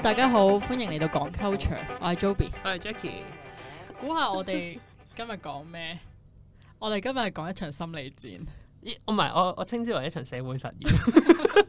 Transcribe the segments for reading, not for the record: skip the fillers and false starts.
大家好，歡迎嚟到講 culture，我係 Joby， 我係 Jackie。 估下我哋今日講咩？我哋今日係講一場心理戰。 唔係，我稱之為一場社會實驗。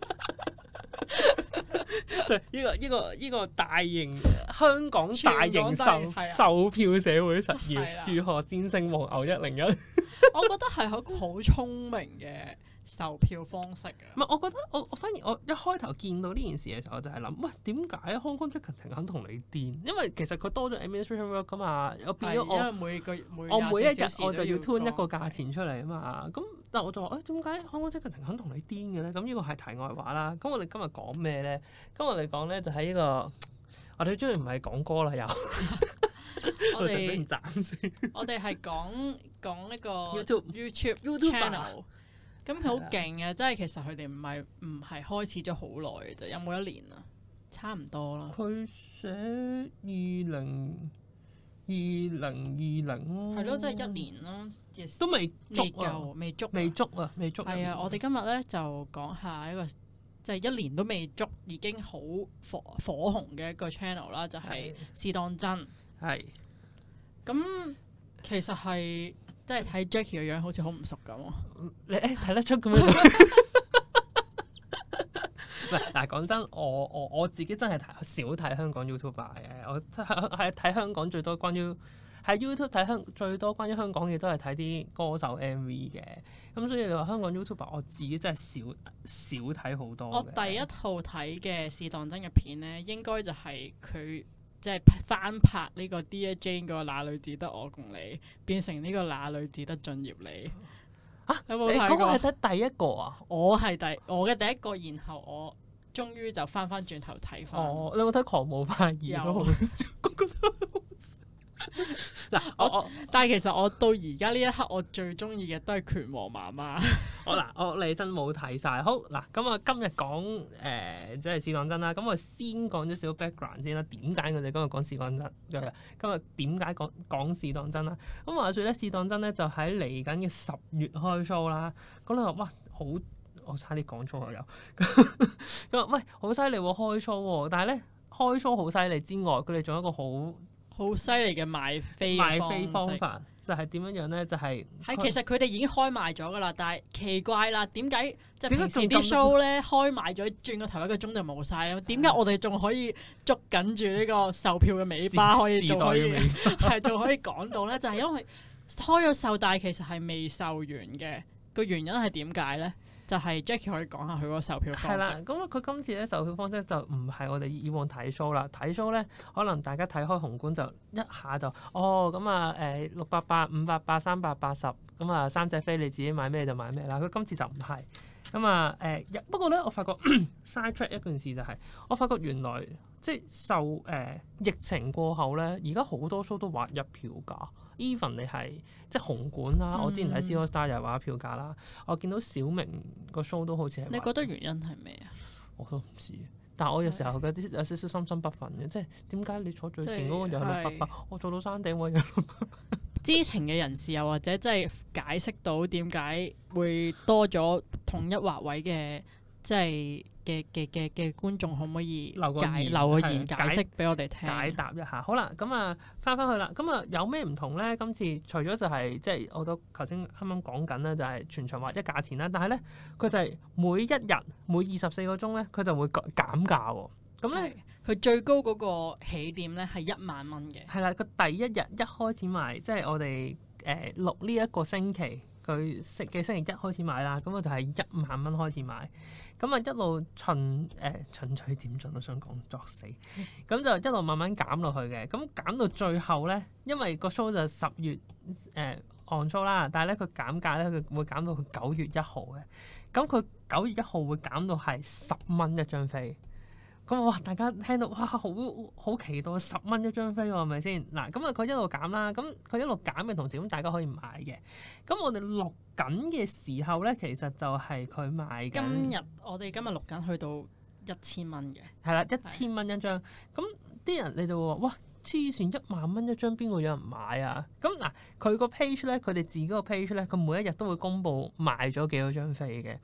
對，呢個大型香港大型售票社會實驗，如何戰勝黃牛101？ 我覺得係一個好聰明嘅售票方式嘅。 唔係，我覺得我反而我一開頭見到呢件事嘅時候，我就係諗，喂，點解 Hong Kong Ticketing肯同你癲？因為其實佢多咗 administration work 噶嘛，又變咗因為每一日我就要 turn 一個價錢出嚟啊嘛。咁但係我就話，點解 Hong Kong Ticketing肯同你癲嘅咧？咁呢個係題外話啦。咁我哋今日講咩咧？今日我哋講咧就係呢個，我哋終於唔係講歌啦，又我哋俾人斬先。 我哋係講一個 YouTube channel。咁佢好勁嘅，即係其實佢哋唔係開始咗好耐嘅啫，有冇一年啊？差唔多啦。 佢寫2020咯， 係咯，即係一年咯， 都未足啊，未足。 係啊，我哋今日咧就講下一個即係一年都未足已經好火紅嘅一個 channel 啦，就係試當真。 係。 咁其實係。即係睇 Jackie 嘅樣好似好唔熟咁喎。 你睇得出咁樣？唔係嗱，講真，我自己真係少睇香港 YouTuber 嘅。我係睇香港最多關於喺 YouTube 睇最多關於香港嘅都係睇啲歌手 MV 嘅。咁所以你話香港 YouTuber，我自己真係少睇好多。 我第一套睇嘅試當真嘅片咧，應該就係佢。即係翻拍呢個 Dear Jane 嗰個那女只得我共你，變成呢個那女只得進業你。有冇睇過？ 嗰個係得第一個啊！ 我嘅第一個，然後我終於就翻轉頭睇翻。 哦，你有冇睇《狂舞派2》都好笑，嗱， 但係其實我到而家呢一刻，我最中意嘅都係拳王媽媽。 我你真冇睇晒。好嗱，咁啊今日講即係試當真啦。咁我先講咗少少 background 先啦。點解我哋今日講試當真？今日點解講試當真啦？咁話說咧，試當真咧就喺嚟緊嘅10月開 show 啦。咁你話哇好，我差啲講粗口又。咁話喂好犀利喎開 show 喎，但係咧開 show 好犀利之外，佢哋仲有一個好犀利嘅賣飛方法，就係點樣咧？就係其實佢哋已經開賣咗噶啦，但係奇怪啦，點解即係平時啲 show 咧開賣咗，轉個頭1個鐘就冇晒咧？點解我哋仲可以捉緊住呢個售票嘅尾巴，仲可以講到咧？就係因為開咗售，但係其實係未售完嘅。個原因係點解咧？就係 Jackie 可以講下佢嗰個售票方式。係啦， 咁佢今次咧售票方式就唔係我哋以往睇 show 啦。睇 show 咧，可能大家睇開紅館就一下就咁啊688、588、380咁啊3隻飛你自己買咩就買咩啦。佢今次就唔係咁啊不過咧我發覺 side track 一件事就係、我發覺原來即係受疫情過後咧，而家好多 show 都劃一票價。even 你係即係紅館啦，我之前睇 C AllStar 又係劃一票價啦。我見到小明個 show 都好似係。 你覺得原因係咩啊？ 我都唔知，但係我有時候有少少心心不忿嘅，即係點解你坐最前嗰個又係688，我坐到山頂位又688。 知情嘅人士又或者即係解釋到點解會多咗同一劃位嘅，即係嘅觀眾可唔可以留個言解釋俾我哋聽？ 解答一下。好啦，咁啊翻返去啦。咁啊有咩唔同咧？今次除咗就係即係我都頭先啱啱講緊咧，就係全場劃一價錢啦。但係咧佢就係每一日每24個鐘咧，佢就會減價喎。咁咧佢最高嗰個起點咧係1萬蚊嘅。 係啦，佢第一日一開始賣，即係我哋錄呢一個星期。佢嘅星期1開始買啦，咁我就係1萬蚊開始買，咁啊一路循序漸進，我想講作死，咁就一路慢慢減落去嘅，咁減到最後咧，因為個 show 就10月on show 啦，但係咧佢減價咧，佢會減到佢9月1號嘅，咁佢9月1號會減到係10蚊一張飛。咁哇！大家聽到哇，好期待10蚊一張飛喎，係咪先？嗱，咁啊佢一路減啦，咁佢一路減嘅同時，咁大家可以買嘅。咁我哋錄緊嘅時候咧，其實就係佢賣緊。 我哋今日錄緊去到1000蚊嘅。係啦，1000蚊一張。咁啲人你就會話：哇！黐線1萬蚊一張，邊個有人買啊？咁嗱，佢個 page 咧，佢哋自己個 page 咧，佢每一日都會公布賣咗幾多張飛嘅。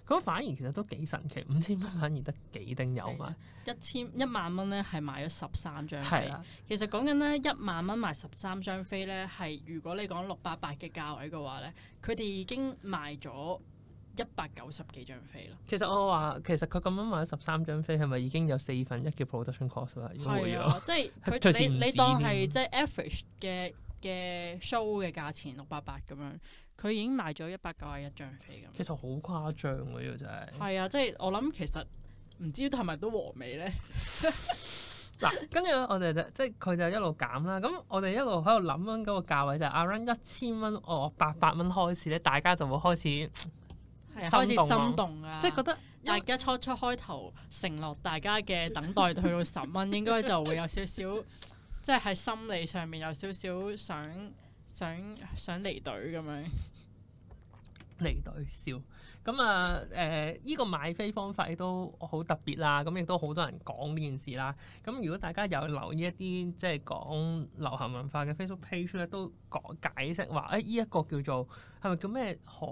咁反而其實都幾神奇，5000蚊反而得幾丁有賣。 1萬蚊咧係賣咗13張飛。 係啦， 其實講緊咧1萬蚊賣13張飛咧，係如果你講688嘅價位嘅話咧，佢哋已經賣咗190幾張飛啦。 其實我話其實佢咁樣賣咗13張飛，係咪已經有4分1嘅 production cost 啦？ 係啊，即係佢你當係即係 average 嘅 show 嘅價錢688咁樣，佢已經賣咗191張飛咁。 其實好誇張喎，呢個真係。 係啊，即係我諗其實唔知係咪都和味咧。 嗱，跟住我哋就即係佢就一路減啦。咁我哋一路喺度諗緊嗰個價位就係 around 1000蚊，800蚊開始咧，大家就會開始開始心動啊！ 即係覺得大家初開頭承諾大家嘅等待去到10蚊，應該就會有少少，即係喺心理上面有少少想離隊咁樣。 離隊笑咁啊！依個買飛方法亦都好特別啦，咁亦都好多人講呢件事啦。咁如果大家有留意一啲即係講流行文化嘅 Facebook page 咧，都解釋話依一個叫做係咪叫咩荷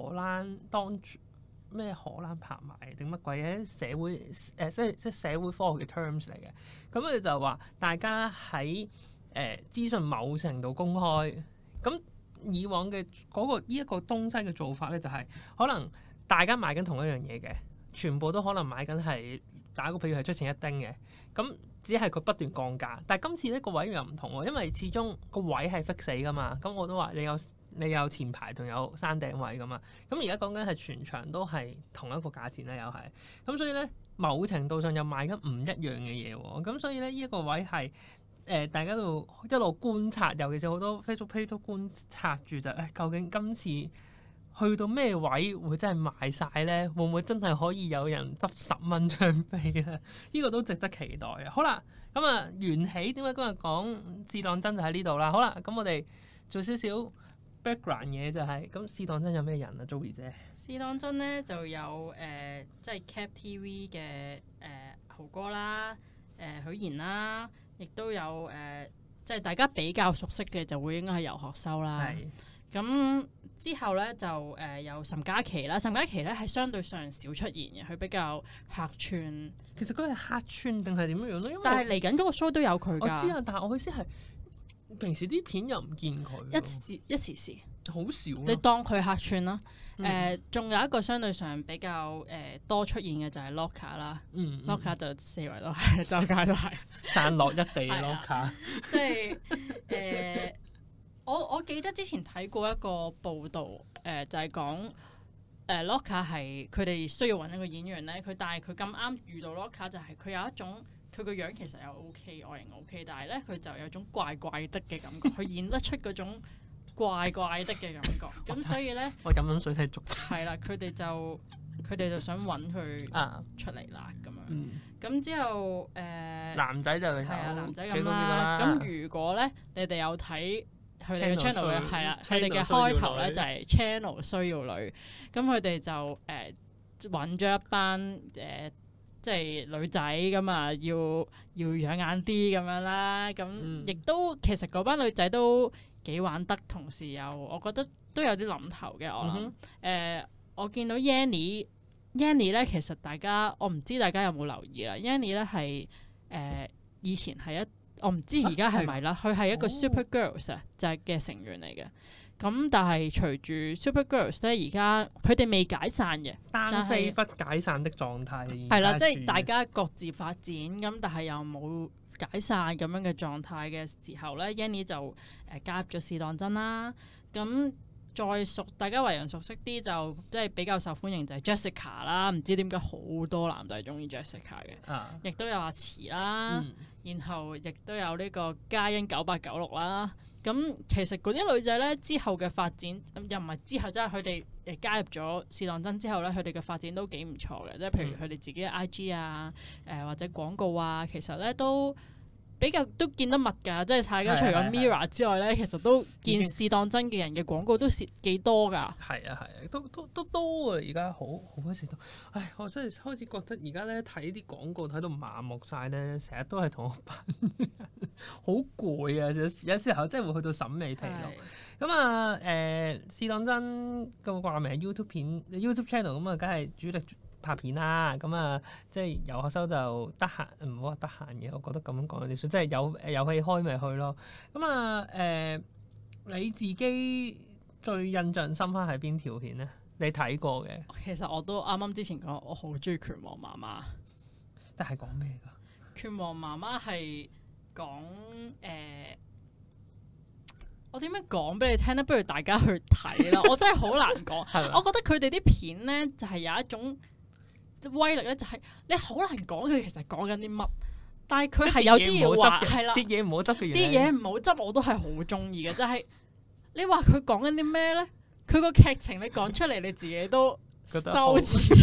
蘭拍賣定乜鬼嘅社會即係社會科學嘅 terms 嚟嘅。咁佢哋就話大家喺資訊某程度公開咁。以往嘅呢一個東西嘅做法咧，就係可能大家買緊同一樣嘢嘅，全部都可能買緊係打個譬如係出前一丁嘅，咁只係佢不斷降價。但係今次呢個位又唔同喎，因為始終個位係 fix 死噶嘛。咁我都話你有前排同有山頂位噶嘛。咁而家講緊係全場都係同一個價錢啦，又係咁，所以咧某程度上又賣緊唔一樣嘅嘢喎。咁所以咧呢一個位係。大家都一路觀察，尤其是好多 Facebook page 都觀察住就究竟今次去到咩位會真係賣晒咧？會唔會真係可以有人執10蚊張飛咧？呢個都值得期待啊！好啦，咁啊緣起點解今日講試當真就喺呢度啦？好啦，咁我哋做少少 background 嘢就係咁試當真有咩人啊 Joey 姐？ 試當真咧就有即係 Cap TV 嘅豪哥啦，許賢啦。亦都有即係大家比較熟悉嘅就會應該係游學修啦。咁之後咧就有岑嘉琪啦。岑嘉琪咧係相對上少出現嘅，佢比較客串。 其實佢係客串定係點樣樣咧？ 但係嚟緊嗰個 show 都有佢㗎。 我知啊，但係我意思係平時啲片又唔見佢。 一時時。 好少。 你當佢客串啦。仲有一個相對上比較多出現嘅就係 Loka 啦。Loka 就四圍都係，周街都係散落一地 Loka。 即係我記得之前睇過一個報導，就係講Loka 係佢哋需要揾一個演員咧，但係佢咁啱遇到 Loka 就係佢有一種佢個樣其實又 OK，外形 OK，但係咧佢就有種怪怪的嘅感覺，佢演得出嗰種怪怪的嘅感覺，咁所以咧， 我飲緊水先續。係啦，佢哋就想揾佢出嚟啦，咁樣。咁之後男仔就係男仔咁啦。咁如果咧，你哋有睇佢哋嘅 channel 嘅係啦，佢哋嘅開頭咧就係 channel 需要女，咁佢哋就揾咗一班即係女仔咁啊，要養眼啲咁樣啦。咁亦都其實嗰班女仔都幾玩得，同時又我覺得都有啲諗頭嘅。我諗我見到 Yanny 咧，其實我唔知大家有冇留意啦。Yanny 咧係以前係我唔知而家係咪啦，佢係一個 Super Girls 就係嘅成員嚟嘅。咁但係隨住 Super Girls 咧，而家佢哋未解散嘅， 單飛不解散的狀態。 係啦，即係大家各自發展咁，但係又冇解散咁樣嘅狀態嘅時候咧，Yanny 就加入咗試當真啦。咁再大家為人熟悉啲就即係比較受歡迎就係 Jessica 啦。唔知點解好多男仔中意 Jessica 嘅，亦都有阿慈啦，然後亦都有呢個嘉欣9896啦。咁其實嗰啲女仔咧之後嘅發展又唔係之後，即係佢哋加入咗試當真之後咧，佢哋嘅發展都幾唔錯嘅。即係譬如佢哋自己嘅 IG 啊，或者廣告啊，其實咧都比較都見得密㗎，即係大家除咗 Mirror 之外咧，其實都見試當真嘅人嘅廣告都幾多㗎。 係啊，都多啊！而家好多時都，唉，我真係開始覺得而家咧睇啲廣告睇到麻木晒咧，成日都係同我班人好攰啊！有時候真係會去到審美疲勞。咁啊試當真個掛名 YouTube 片 YouTube channel 咁啊，梗係主力拍片啦，咁啊，即係游學修就得閒，唔好話得閒嘅，我覺得咁樣講有啲衰，即係有戲開咪去咯。咁啊，你自己最印象深刻係邊條片咧？你睇過嘅？ 其實我都啱啱之前講，我好中意拳王媽媽。 但係講咩㗎？ 拳王媽媽係講我點樣講俾你聽咧？不如大家去睇啦！我真係好難講。我覺得佢哋啲片咧就係有一種威力咧，就係你好難講佢其實講緊啲乜，但係佢係有啲嘢話係啦， 啲嘢唔好執嘅嘢， 啲嘢唔好執我都係好中意嘅。就係你話佢講緊啲咩咧？佢個劇情你講出嚟你自己都羞恥，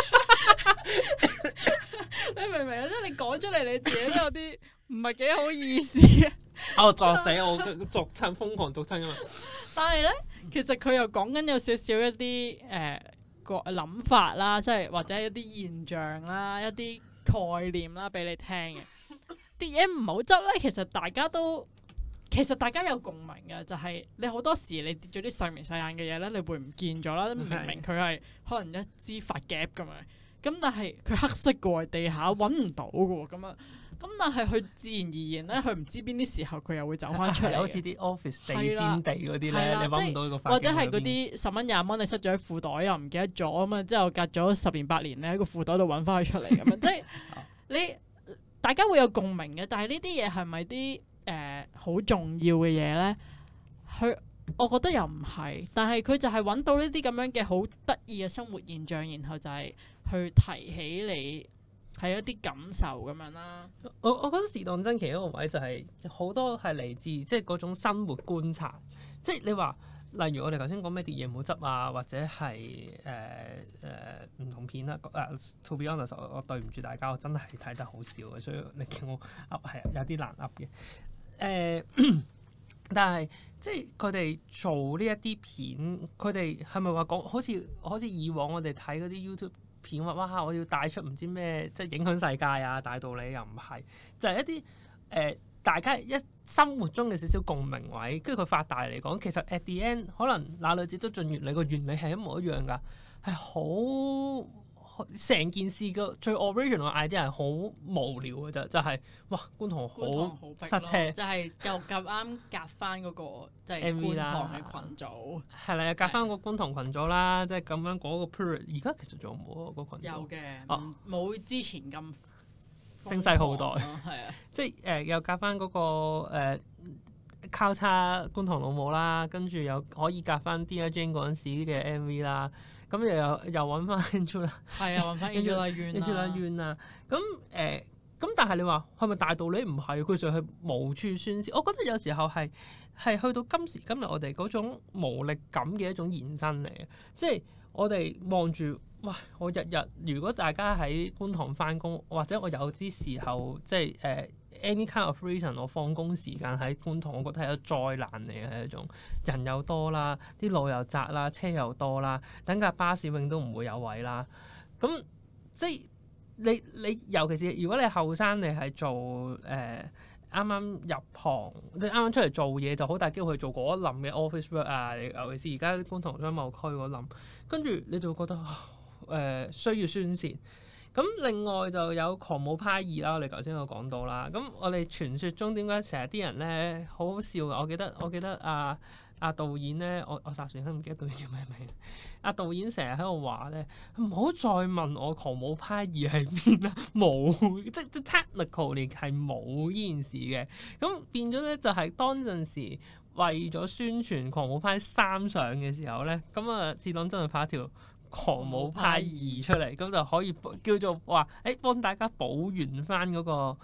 你明唔明啊？即係你講出嚟你自己都有啲唔係幾好意思嘅。 我作死我作親瘋狂作親啊嘛！ 但係咧，其實佢又講緊有少少一啲個諗法啦，即係或者一啲現象啦、一啲概念啦，俾你聽嘅。啲嘢唔好執咧，其實大家有共鳴嘅，就係你好多時你跌咗啲細眉細眼嘅嘢咧，你會唔見咗啦。明明佢係可能一支髮夾咁樣，咁但係佢黑色嘅喎，地下揾唔到嘅喎，咁樣。咁但係佢自然而然咧，佢唔知邊啲時候佢又會走翻出嚟， 好似啲 office 地氈地嗰啲咧，你揾唔到呢個髮夾， 或者係嗰啲10蚊20蚊你塞咗喺褲袋又唔記得咗咁啊，之後隔咗10年8年咧喺個褲袋度揾翻佢出嚟咁樣，即係你大家會有共鳴嘅，但係呢啲嘢係咪啲好重要嘅嘢咧？我覺得又唔係，但係佢就係揾到呢啲咁樣嘅好得意嘅生活現象，然後就係去提起你。係一啲感受咁樣啦。 我覺得試當真其中一個位就係好多係嚟自即係嗰種生活觀察。即係你話，例如我哋頭先講咩啲嘢唔好執啊，或者係唔同片啦。To be honest，我對唔住大家，我真係睇得好少嘅，所以你叫我噏係有啲難噏嘅。但係即係佢哋做呢一啲片，佢哋係咪話講好似以往我哋睇嗰啲 YouTube片話哇，我要帶出唔知咩，即係影響世界啊，大道理又唔係，就係、是、一啲大家生活中嘅少少共鳴位，跟住佢發大嚟講，其實 at the end 可能那女子都進原理個原理係一模一樣㗎，係好成件事嘅最 original idea 係好無聊嘅啫，就係、是、哇觀塘好塞車， 就係又咁啱夾翻嗰個即係觀塘嘅群組， 係啦，夾翻個觀塘群組啦，即係咁樣嗰個 period。而家其實仲有冇啊？個群組有嘅，冇之前咁聲勢浩大， 係啊， 即係又夾翻嗰個交叉觀塘老母啦，跟住又可以夾翻 Dear Jane 嗰陣時嘅 MV 啦。咁又揾翻 Angela， 係啊，揾翻 Angela Yuen 啊。咁但係你話係咪大道理？唔係，佢就係無處宣泄。我覺得有時候係去到今時今日，我哋嗰種無力感嘅一種延伸嚟嘅。即係我哋望住，哇！我日如果大家喺觀塘翻工，或者我有啲時候即係any kind of reason， 我放工時間喺觀塘，我覺得係一個災難嚟嘅，係一種人又多啦，啲路又窄啦，車又多啦，等架巴士永都唔會有位啦。咁即係你尤其是如果你後生，你係做啱啱入行，即係啱啱出嚟做嘢，就好大機會去做嗰一冧嘅 office work 啊。尤其是而家觀塘商貿區嗰冧，跟住你就會覺得需要宣泄。咁另外就有狂舞派2啦，我哋頭先有講到啦。咁我哋傳說中點解成日啲人咧好好笑嘅？我記得導演咧，我霎時都唔記得導演叫咩名。導演成日喺度話咧，唔好再問我狂舞派2係邊啦，冇即 technically 係冇呢件事嘅。咁變咗咧就係當陣時為咗宣傳狂舞派3上嘅時候咧，咁試當真係拍一條狂舞派2出嚟，咁就可以叫做話幫大家補完翻嗰個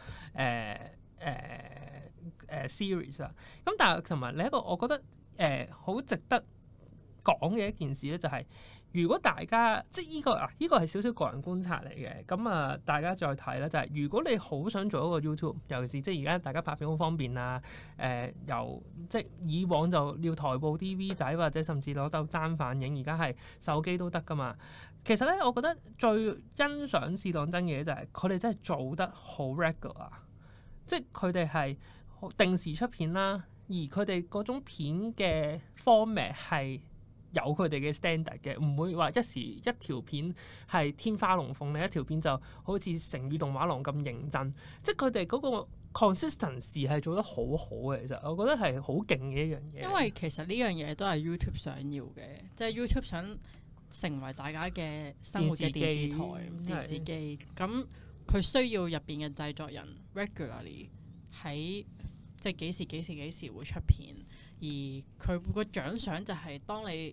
series 啊。咁但係同埋另一個我覺得好值得講嘅一件事咧，就係如果大家即係呢個係少少個人觀察嚟嘅，咁啊大家再睇啦，就係如果你好想做一個 YouTube，尤其是即係而家大家拍片好方便啊，由即係以往就要台部 DV 仔或者甚至攞到單反影，而家係手機都得噶嘛。其實咧，我覺得最欣賞試當真嘅嘢就係佢哋真係做得好 regular，即係佢哋係定時出片啦，而佢哋嗰種片嘅 format 係有佢哋嘅 standard 嘅，唔會話一時一條片係天花龍鳳，另一條片就好似成語動畫廊咁認真，即係佢哋嗰個 consistency 係做得好好嘅。其實我覺得係好勁嘅一樣嘢。因為其實呢樣嘢都係 YouTube 想要嘅，即係 YouTube 想成為大家嘅生活嘅電視台、電視機，咁佢需要入邊嘅製作人 regularly 喺即係幾時會出片，而佢個獎賞就係當你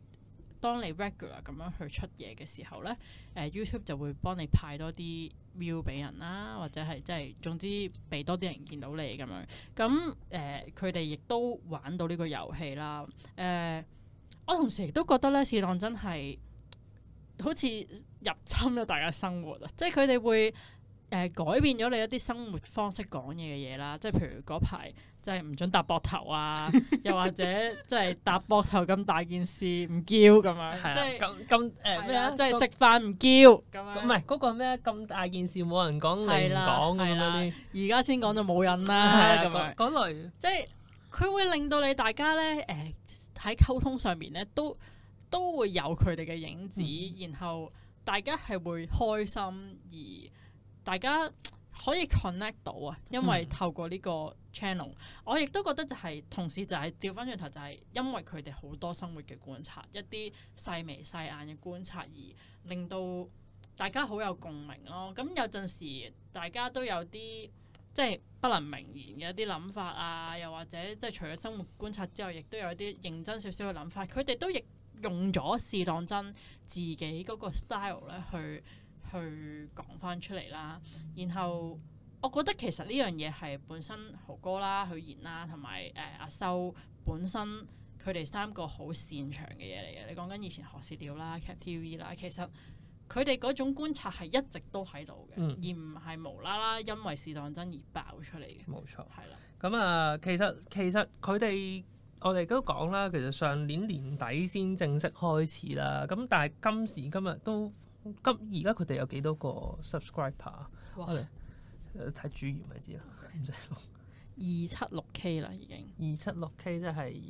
regular 咁樣去出嘢嘅時候咧，YouTube 就會幫你派多啲 view 俾人啦，或者係即係總之俾多啲人見到你咁樣。咁佢哋亦都玩到呢個遊戲啦。我同時亦都覺得咧，試當真係好似入侵咗大家生活啊！即係佢哋會改變咗你一啲生活方式講嘢嘅嘢啦，即係譬如嗰排即係唔准搭膊頭啊，又或者即係搭膊頭咁大件事唔叫咁樣，即係咁咩啊？即係食飯唔叫咁樣， 唔係嗰個咩咁大件事冇人講你唔講咁嗰啲， 而家先講就冇人啦咁樣嗰類， 即係佢會令到你大家咧喺溝通上面咧都會有佢哋嘅影子，然後大家係會開心，而大家可以 connect 到啊，因為透過呢個 channel，我亦都覺得就係同時就係調翻轉頭，就係因為佢哋好多生活嘅觀察，一啲細眉細眼嘅觀察，而令到大家好有共鳴咯。咁有陣時大家都有啲即係不能明言嘅一啲諗法啊，又或者即係除咗生活觀察之外，亦都有一啲認真少少嘅諗法。佢哋都亦用咗試當真自己嗰個 style 咧去講翻出嚟啦。然後我覺得其實呢樣嘢係本身豪哥啦、許賢啦同埋阿修本身佢哋三個好擅長嘅嘢嚟嘅。你講緊以前學試料啦、Cap TV 啦，其實佢哋嗰種觀察係一直都喺度嘅，而唔係無啦啦因為試當真而爆出嚟嘅。 冇錯， 係啦。 咁啊，其實佢哋我哋都講啦，其實上年年底先正式開始啦。咁但係今時今日都而家佢哋有幾多個 subscriber？ 我哋睇主頁咪知啦，唔使講。276K 啦，已經 276K 即係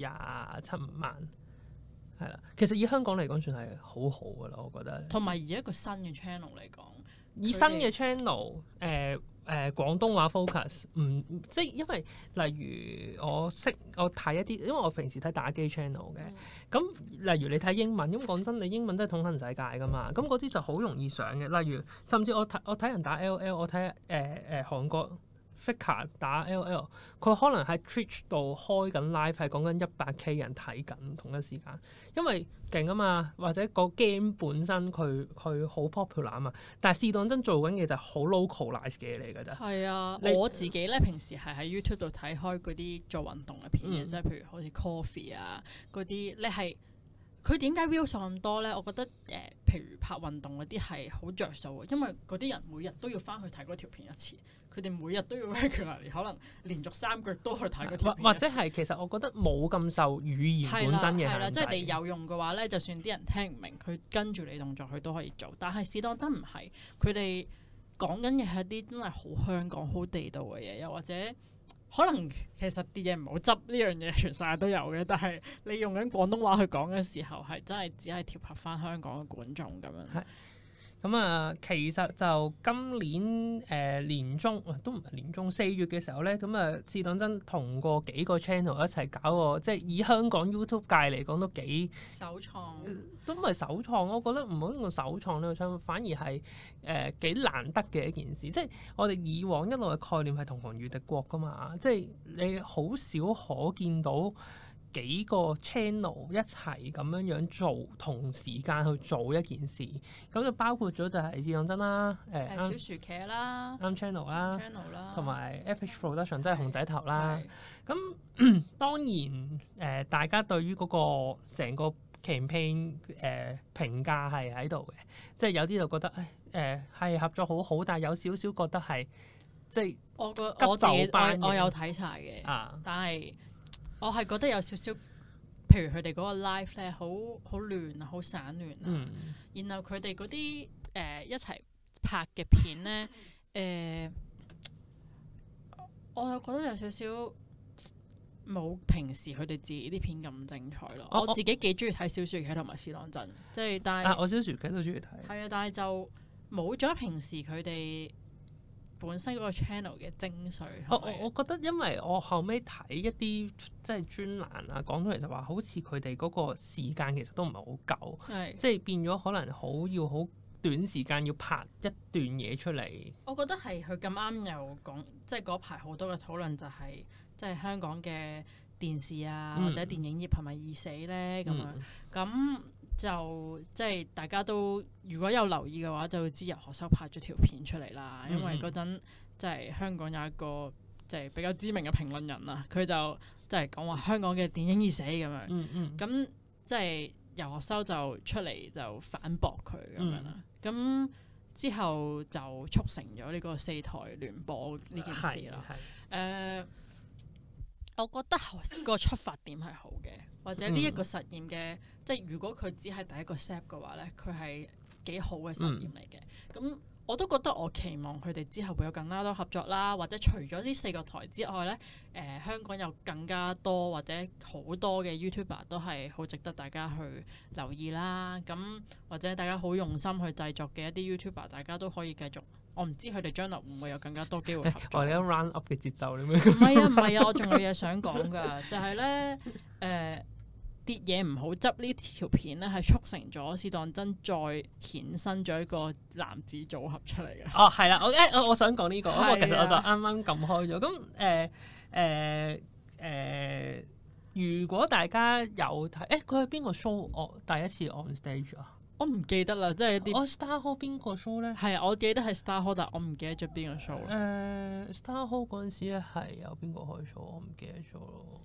27萬。係啦，其實以香港嚟講算係好好噶啦，我覺得。同埋以一個新嘅 channel 嚟講，以新嘅 channel，廣東話 focus，即係因為例如我睇一啲，因為我平時睇打機 channel 嘅，咁例如你睇英文，咁講真，你英文真係統行世界噶嘛，咁嗰啲就好容易上嘅。例如甚至我睇人打 LL， 我睇韓國 Faker 打 LL， 佢可能喺 Twitch 度開緊 live， 係講緊100K 人睇緊同一時間，因為勁啊嘛，或者個 game 本身佢好 popular 啊嘛，但係試當真做緊嘅就係好 localize 嘅嘢嚟㗎咋。係啊，我自己咧平時係喺 YouTube 度睇開嗰啲做運動嘅片嘅，即係譬如好似 Coffee 啊嗰啲，你係佢點解 view 數咁多咧？我覺得譬如拍運動嗰啲係好着數嘅，因為嗰啲人每日都要翻去睇嗰條片一次。佢哋每日都要 regular， 可能連續3個月都去睇嗰條片，或者係其實我覺得冇咁受語言本身嘅限制。係啦，即係你有用嘅話咧，就算啲人聽唔明，佢跟住你動作佢都可以做。但係試當真唔係，佢哋講緊嘅係一啲真係好香港、好地道嘅嘢，又或者可能其實啲嘢唔好執呢樣嘢，全世界都有嘅。但係你用緊廣東話去講嘅時候，係真係只係貼合翻香港嘅觀眾咁樣。咁啊，其實就今年年中都唔係年中4月嘅時候咧，咁啊試當真同過幾個 channel 一齊搞個，即係以香港 YouTube 界嚟講都幾首創，都唔係首創，我覺得唔好用首創呢個稱，反而係幾難得嘅一件事。即係我哋以往一路嘅概念係同行如敵國噶嘛，即係你好少可見到幾個 channel 一齊咁樣做，同時間去做一件事，咁就包括咗就係試當真啦，小薯茄啦，啱 channel 啦，同埋 FH Production 即係熊仔頭啦。咁當然大家對於嗰個成個 campaign 評價係喺度嘅，即係有啲就覺得係合作好好，但係有少少覺得係即係我自急就班我有睇晒嘅，但係我係覺得有少少，譬如佢哋嗰個 live 咧，好亂啊，好散亂啊，然後佢哋嗰啲一齊拍嘅片咧，我又覺得有少少冇平時佢哋自己啲片咁精彩咯。我自己幾中意睇小薯茄同埋試當真，即係但係我小薯茄都中意睇。係啊，但係就冇咗平時佢哋本身嗰個 channel 嘅精髓。 我覺得因為我後尾睇一啲即係專欄啊，講出嚟就話好似佢哋嗰個時間其實都唔係好夠，即係變咗可能要好短時間要拍一段嘢出嚟。 我覺得係佢咁啱又講，即係嗰排好多嘅討論就係、即係香港嘅電視啊、或者電影業係咪已死咧咁樣？咁就即係大家都如果有留意嘅話，就會知游學修拍咗條片出嚟啦。因為嗰陣即係香港有一個即係比較知名嘅評論人啊，佢就即係講話香港嘅電影已死咁樣。咁即係游學修就出嚟就反駁佢咁樣啦。咁之後就促成咗呢個四台聯播呢件事啦。我覺得個出發點係好嘅，或者呢一個實驗嘅，即係如果佢只係第一個 step 嘅話咧，佢係幾好嘅實驗嚟嘅。咁我都覺得我期望佢哋之後會有更加多合作啦，或者除咗呢4個台之外咧，香港有更加多或者好多嘅 YouTuber 都係好值得大家去留意啦。咁或者大家好用心去製作嘅一啲 YouTuber，大家都可以繼續。我唔知佢哋將來會唔會有更加多機會合作。 我哋有 round up 嘅節奏咁樣。 唔係啊，我仲有嘢想講㗎，就係咧跌嘢唔好執呢條片咧，係促成咗試當真再衍生咗一個男子組合出嚟嘅。 哦，係啦，我想講呢個，不過其實我就啱啱撳開咗。咁如果大家有睇，佢係邊個 show？我第一次 on stage 啊？ 我唔記得啦，即係一啲。 Star Hall 邊個 show 咧？ 係啊，我記得係 Star Hall，但我唔記得咗邊個 show。 Star Hall 嗰陣時咧係有邊個開 show？我唔記得咗咯。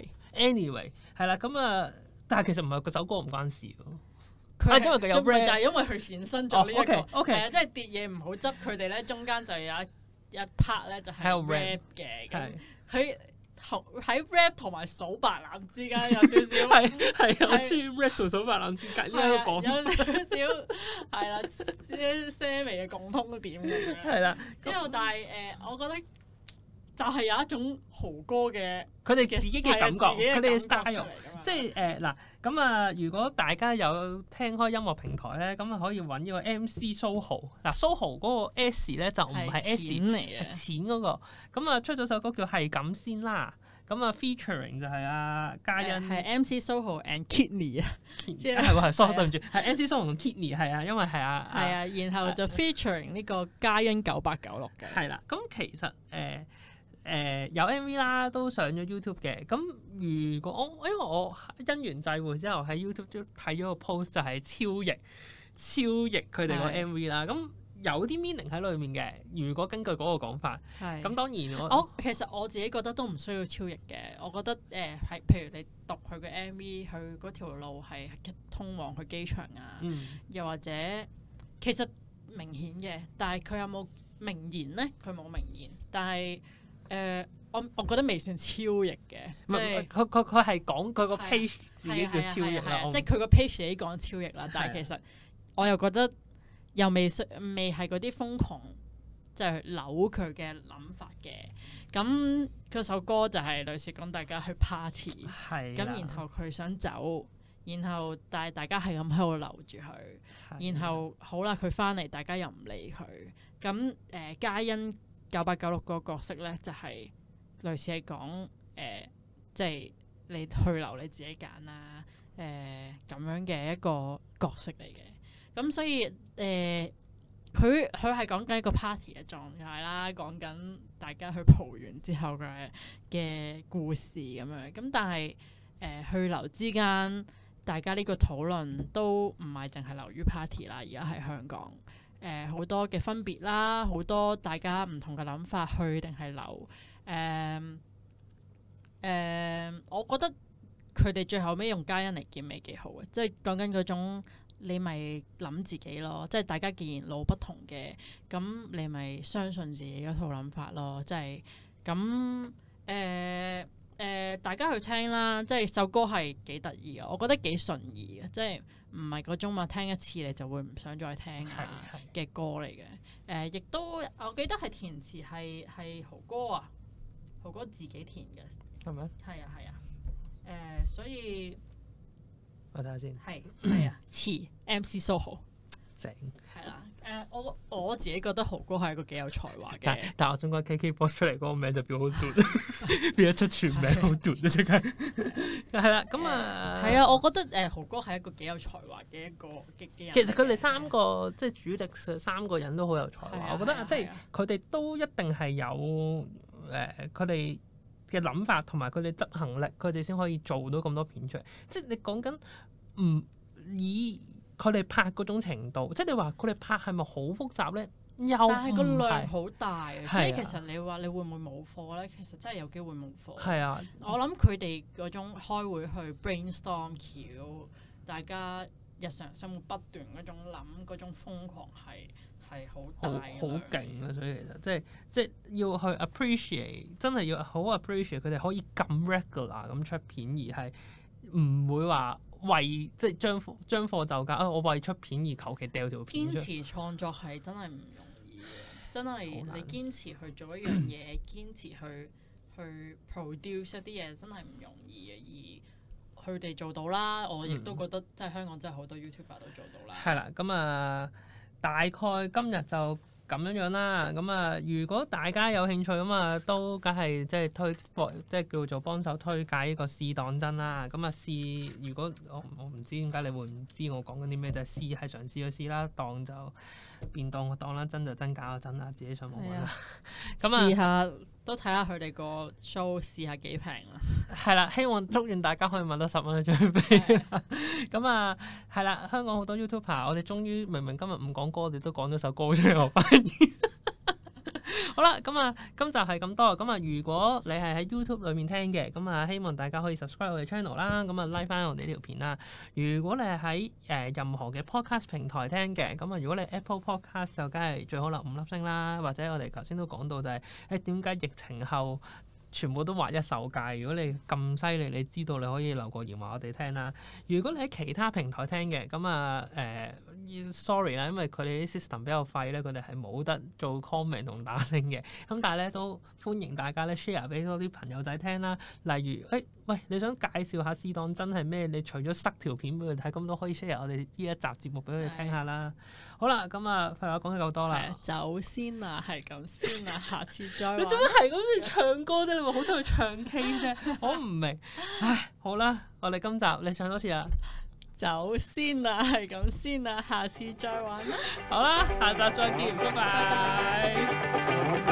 Anyway 係啦，咁但係其實唔係嗰首歌唔關事㗎。 因為佢有 rap 就係因為佢衍生咗呢一個。 OK， 即係跌嘢唔好執，佢哋咧中間就有一 part 咧就係 rap 嘅。咁佢喺 rap 同埋數白欖之間有少少係我中意 rap 同數白欖之間呢個講有少少係啦，啲些微嘅共通點咁樣。 係啦， 之後但係我覺得就係有一種豪歌嘅佢哋自己嘅感覺，佢哋嘅 style 即係嗱咁如果大家有聽開音樂平台咧，咁可以揾呢個 MC Soho。嗱 Soho 嗰個 S 咧就唔係 S 嚟嘅，係錢嗰個。咁出咗首歌叫係咁先啦。咁featuring 就係嘉欣， 係 MC Soho and Kidney 啊， 係喎係 Soho 對唔住，係 MC Soho 同 Kidney 係啊，因為係然後就 featuring 呢個嘉欣9896嘅。 係啦，咁其實有 MV 啦，都上咗 YouTube 嘅。咁如果因為我因緣際會之後喺 YouTube 都睇咗個 post 就係超譯佢哋個 MV 啦。咁有啲 meaning 喺裏面嘅。如果根據嗰個講法，咁當然其實我自己覺得都唔需要超譯嘅。我覺得係譬如你讀佢嘅 MV，佢嗰條路係通往去機場啊，又或者其實明顯嘅，但係佢有冇明言咧？佢冇明言，但係我覺得未算超譯嘅。 佢係講佢個 page 自己叫超譯啦， 即係佢個 page 自己講超譯啦。但係其實我又覺得又未係嗰啲瘋狂即係扭佢嘅諗法嘅。咁嗰首歌就係類似講大家去 party，咁然後佢想走，然後但係大家係咁喺度留住佢，然後好啦，佢翻嚟，大家又唔理佢。咁嘉欣9896個角色咧，就係類似係講即係你去留你自己揀啦，咁樣嘅一個角色嚟嘅。咁所以佢係講緊一個 party 嘅狀態啦，講緊大家去蒲完之後嘅故事咁樣。咁但係去留之間，大家呢個討論都唔係淨係流於 party 啦，而家喺香港。好多嘅分別啦，好多大家唔同嘅諗法，去定係留。我覺得佢哋最後尾用嘉欣嚟結尾幾好嘅，即係講緊嗰種你咪諗自己咯，即係大家既然路不同嘅，咁你咪相信自己嗰套諗法咯，即係咁大家去聽啦，即係首歌係幾得意嘅，我覺得幾順意嘅，即係唔係嗰種嘛聽一次你就會唔想再聽嘅歌嚟嘅。亦都我記得係填詞係豪哥啊，豪哥自己填嘅， 係咪？ 係啊。所以我睇下先。 係啊，詞 MC Soho 正。 係啦。我自己覺得豪哥係一個幾有才華嘅。 但係我想講 KKBOX 出嚟嗰個名就變好短，變咗出全名好短啊！即刻係啦，咁啊係啊，我覺得豪哥係一個幾有才華嘅一個嘅人。 其實佢哋三個即係主力上三個人都好有才華，我覺得即係佢哋都一定係有佢哋嘅諗法同埋佢哋執行力，佢哋先可以做到咁多片出嚟。即係你講緊唔以佢哋拍嗰種程度，即係你話佢哋拍係咪好複雜咧？但係個量好大，所以其實你話你會唔會冇課咧？其實真係有機會冇課。係啊，我諗佢哋嗰種開會去 brainstorm 橋，大家日常生活不斷嗰種諗嗰種瘋狂係好大嘅，好勁啊！所以其實即係要去 appreciate， 真係要好 appreciate 佢哋可以咁 regular 咁出片，而係唔會話為即係將貨就價。我為出片而求其掉條片出。堅持創作係真係唔容易嘅，真係你堅持去做一樣嘢，堅持去 produce 一啲嘢，真係唔容易嘅。而佢哋做到啦，我亦都覺得即係香港真係好多 YouTuber 都做到啦。 係啦，咁啊，大概今日就咁樣啦，咁啊，如果大家有興趣咁啊，都梗係即係叫做幫手推介呢個試當真啦。咁啊試，如果我唔知點解你會唔知我講緊啲咩，就係試係嘗試去試啦，當就變當個當啦，真就真假就真啦，自己上網揾啦。咁啊，試下都睇下佢哋個 show 試下幾平啦。係啦，祝願大家可以買到10蚊嘅張飛。咁啊，係啦，香港好多 YouTuber， 我哋終於明明今日唔講歌，我哋都講咗首歌出嚟，我發現。好啦，咁啊，今集係咁多。咁啊，如果你係喺 YouTube 裏面聽嘅，咁啊，希望大家可以 subscribe 我哋 channel 啦。咁啊，like 翻我哋呢條片啦。如果你係喺任何嘅 podcast 平台聽嘅，咁啊，如果你 Apple Podcast 就梗係最好啦，5粒星啦。或者我哋頭先都講到就係點解疫情後全部都劃一手界。如果你咁犀利，你知道你可以留個言話我哋聽啦。如果你喺其他平台聽嘅，咁啊sorry 啦，因為佢哋啲 system 比較廢咧，佢哋係冇得做 comment 同打星嘅。咁但係咧都歡迎大家咧 share 俾多啲朋友仔聽啦。例如喂，你想介紹下試當真係咩？你除咗塞條片俾佢睇，咁都可以 share 我哋呢一集節目俾佢哋聽下啦。好啦，咁啊廢話講得夠多啦， 走先啊，係咁先啊，下次再。 你做咩係咁樣唱歌啫？你咪好想去唱 K 啫？我唔明。唉，好啦，我哋今集你唱多次啊！ 走先啊，係咁先啊，下次再玩啦。 好啦，下集再見，拜拜。